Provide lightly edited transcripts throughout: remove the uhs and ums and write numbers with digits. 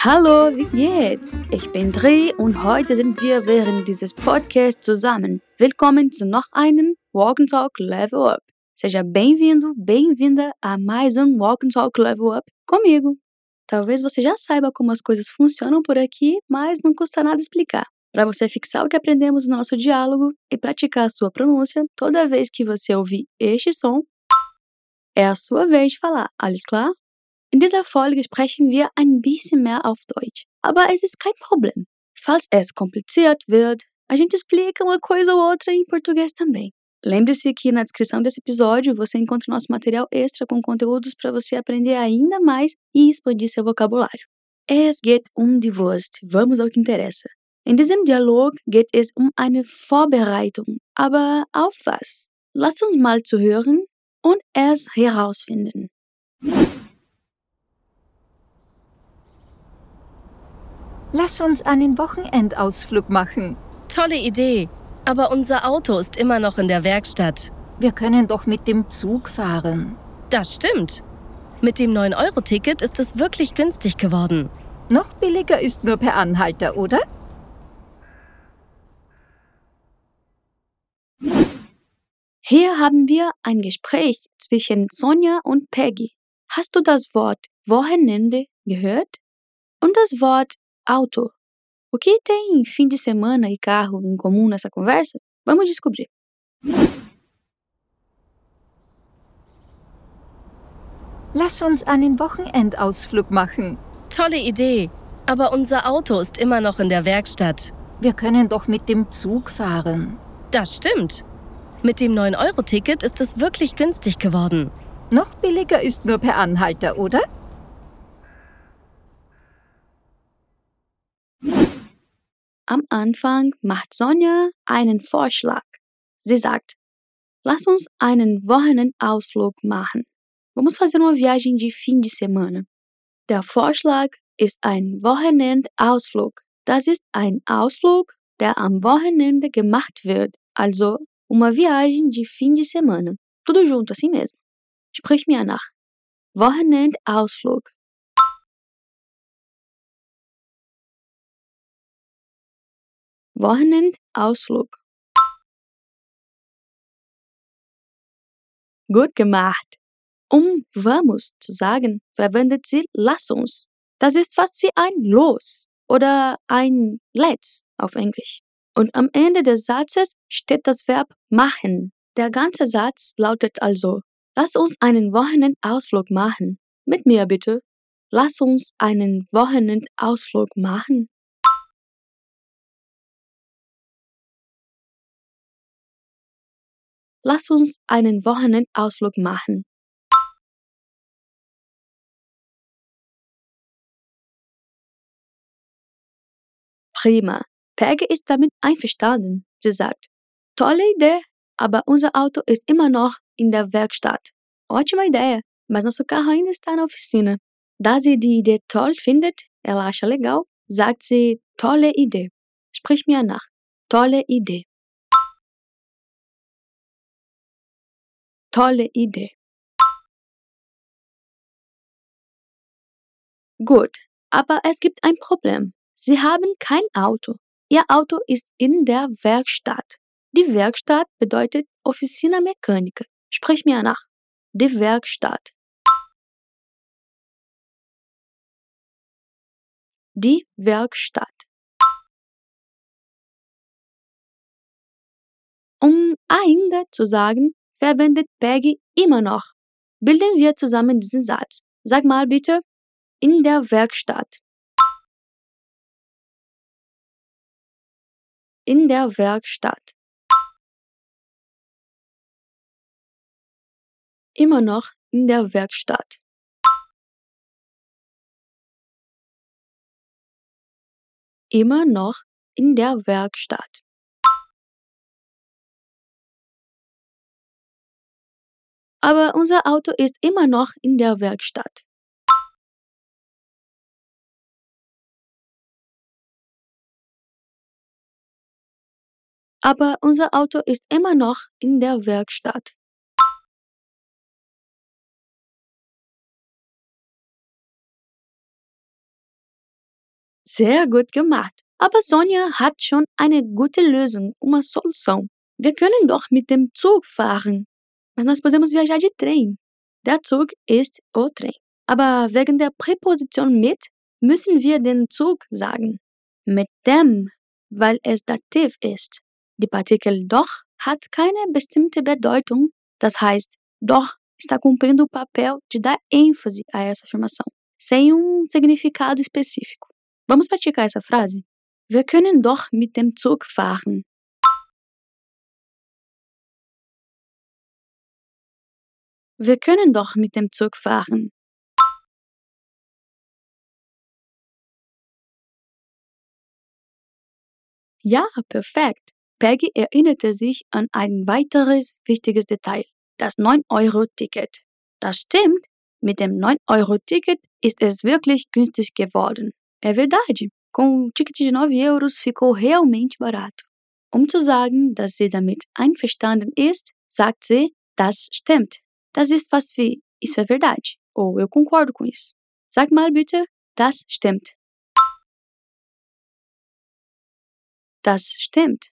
Hallo, wie geht's? Ich bin Dre und heute sind wir während dieses Podcasts zusammen. Willkommen zu noch einem Walk and Talk Level Up. Seja bem-vindo, bem-vinda a mais um Walk and Talk Level Up comigo. Talvez você já saiba como as coisas funcionam por aqui, mas não custa nada explicar. Para você fixar o que aprendemos no nosso diálogo e praticar a sua pronúncia, toda vez que você ouvir este som, é a sua vez de falar. Alles klar? In dieser Folge sprechen wir ein bisschen mehr auf Deutsch, aber es ist kein Problem. Falls es kompliziert wird, a gente explica uma coisa ou outra em português também. Lembre-se que na descrição desse episódio você encontra nosso material extra com conteúdos para você aprender ainda mais e expandir seu vocabulário. Es geht um die Wurst. Vamos ao que interessa. In diesem Dialog geht es um eine Vorbereitung. Aber auf was? Lass uns mal zuhören und es herausfinden. Lass uns einen Wochenendausflug machen. Tolle Idee, aber unser Auto ist immer noch in der Werkstatt. Wir können doch mit dem Zug fahren. Das stimmt. Mit dem 9-Euro-Ticket ist es wirklich günstig geworden. Noch billiger ist nur per Anhalter, oder? Hier haben wir ein Gespräch zwischen Sonja und Peggy. Hast du das Wort Wochenende gehört? Und das Wort Auto. O que tem fim de semana e carro em comum nessa conversa? Vamos descobrir. Lass uns einen Wochenendausflug machen. Tolle Idee, aber unser Auto ist immer noch in der Werkstatt. Wir können doch mit dem Zug fahren. Das stimmt. Mit dem 9-Euro-Ticket ist es wirklich günstig geworden. Noch billiger ist nur per Anhalter, oder? Am Anfang macht Sonja einen Vorschlag. Sie sagt, lass uns einen Wochenendausflug machen. Vamos fazer uma viagem de fim de semana. Der Vorschlag ist ein Wochenendausflug. Das ist ein Ausflug, der am Wochenende gemacht wird. Also, uma viagem de fim de semana. Tudo junto, assim mesmo. Sprich mir nach. Wochenendausflug. Wochenendausflug. Gut gemacht. Um vamos zu sagen, verwendet sie lass uns. Das ist fast wie ein los oder ein let's auf Englisch. Und am Ende des Satzes steht das Verb machen. Der ganze Satz lautet also, lass uns einen Wochenendausflug machen. Mit mir bitte. Lass uns einen Wochenendausflug machen. Lass uns einen Wochenendausflug machen. Prima. Peggy ist damit einverstanden. Sie sagt, tolle Idee, aber unser Auto ist immer noch in der Werkstatt. Ótima ideia, mas nosso carro ainda está na oficina. Da sie die Idee toll findet, ela acha legal, sagt sie tolle Idee. Sprich mir nach. Tolle Idee. Tolle Idee. Gut, aber es gibt ein Problem. Sie haben kein Auto. Ihr Auto ist in der Werkstatt. Die Werkstatt bedeutet Oficina Mecânica. Sprich mir nach. Die Werkstatt. Die Werkstatt. Um ainda zu sagen, verwendet Peggy immer noch. Bilden wir zusammen diesen Satz. Sag mal bitte, in der Werkstatt. In der Werkstatt. Immer noch in der Werkstatt. Immer noch in der Werkstatt. Aber unser Auto ist immer noch in der Werkstatt. Aber unser Auto ist immer noch in der Werkstatt. Sehr gut gemacht. Aber Sonja hat schon eine gute Lösung, uma solução. Wir können doch mit dem Zug fahren. Mas nós podemos viajar de trem. Der Zug ist o trem. Aber wegen der Präposition mit müssen wir den Zug sagen. Mit dem, weil es Dativ ist. Die Partikel doch hat keine bestimmte Bedeutung. Das heißt, doch está cumprindo o papel de dar ênfase a essa afirmação, sem significado específico. Vamos praticar essa frase? Wir können doch mit dem Zug fahren. Wir können doch mit dem Zug fahren. Ja, perfekt. Peggy erinnerte sich an ein weiteres wichtiges Detail, das 9-Euro-Ticket. Das stimmt, mit dem 9-Euro-Ticket ist es wirklich günstig geworden. É verdade, com o ticket de 9 euros ficou realmente barato. Zu sagen, dass sie damit einverstanden ist, sagt sie, das stimmt. Das ist fast wie, isso é verdade, ou eu concordo com isso. Sag mal bitte, das stimmt. Das stimmt.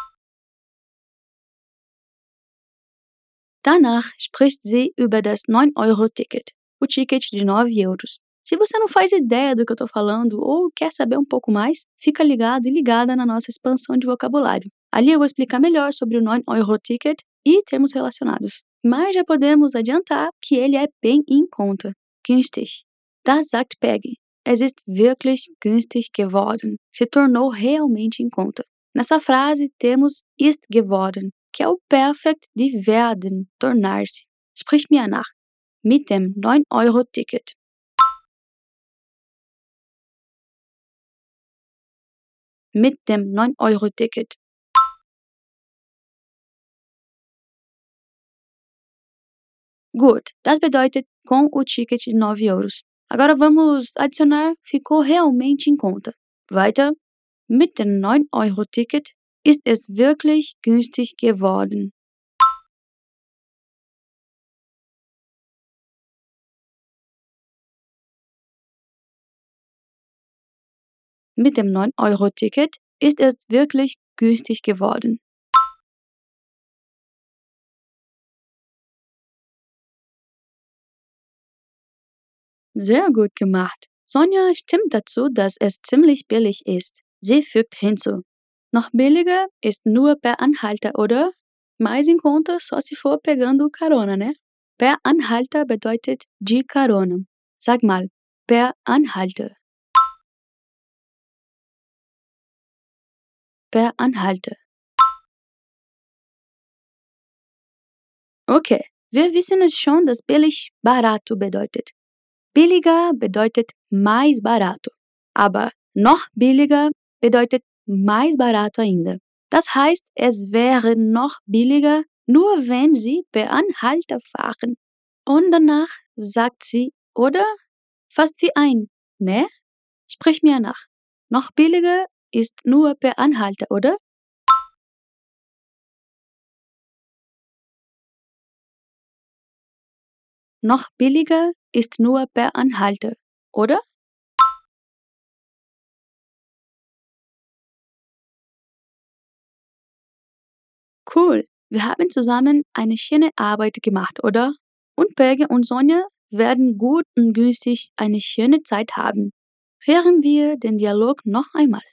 Danach spricht sie über das 9-Euro-Ticket, o ticket de 9 euros. Se você não faz ideia do que eu estou falando ou quer saber um pouco mais, fica ligado e ligada na nossa expansão de vocabulário. Ali eu vou explicar melhor sobre o 9-Euro-Ticket e termos relacionados. Mas já podemos adiantar que ele é bem em conta. Günstig. Das sagt Peggy. Es ist wirklich günstig geworden. Se tornou realmente em conta. Nessa frase temos ist geworden, que é o Perfekt de werden, tornar-se. Sprich mir nach. Mit dem 9-Euro-Ticket. Mit dem 9-Euro-Ticket. Gut, das bedeutet com o ticket de 9 euros. Agora vamos adicionar ficou realmente em conta. Weiter. Mit dem 9-Euro-Ticket ist es wirklich günstig geworden. Mit dem 9-Euro-Ticket ist es wirklich günstig geworden. Sehr gut gemacht. Sonja stimmt dazu, dass es ziemlich billig ist. Sie fügt hinzu. Noch billiger ist nur per Anhalter, oder? Mais em conta só se for pegando carona, né? Per Anhalter bedeutet de carona. Sag mal, per Anhalter. Per Anhalter. Okay, wir wissen es schon, dass billig barato bedeutet. Billiger bedeutet mais barato, aber noch billiger bedeutet mais barato ainda. Das heißt, es wäre noch billiger, nur wenn Sie per Anhalter fahren. Und danach sagt sie, oder? Fast wie ein, ne? Sprich mir nach. Noch billiger ist nur per Anhalter, oder? Noch billiger ist nur per Anhalter, oder? Cool, wir haben zusammen eine schöne Arbeit gemacht, oder? Und Peggy und Sonja werden gut und günstig eine schöne Zeit haben. Hören wir den Dialog noch einmal.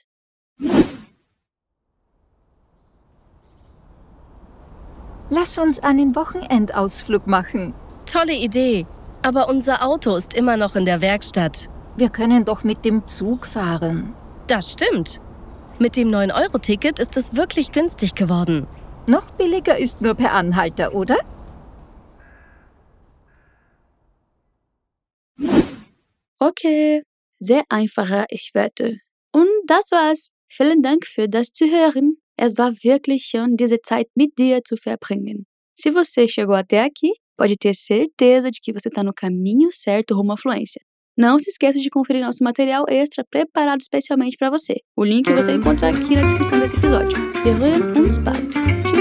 Lass uns einen Wochenendausflug machen. Tolle Idee. Aber unser Auto ist immer noch in der Werkstatt. Wir können doch mit dem Zug fahren. Das stimmt. Mit dem 9-Euro-Ticket ist es wirklich günstig geworden. Noch billiger ist nur per Anhalter, oder? Okay, sehr einfacher, ich wette. Und das war's. Vielen Dank für das Zuhören. Es war wirklich schön, diese Zeit mit dir zu verbringen. Se você chegou até aqui, pode ter certeza de que você está no caminho certo rumo à fluência. Não se esqueça de conferir nosso material extra preparado especialmente para você. O link você encontra aqui na descrição desse episódio. Wir hören uns bald. Tschüss.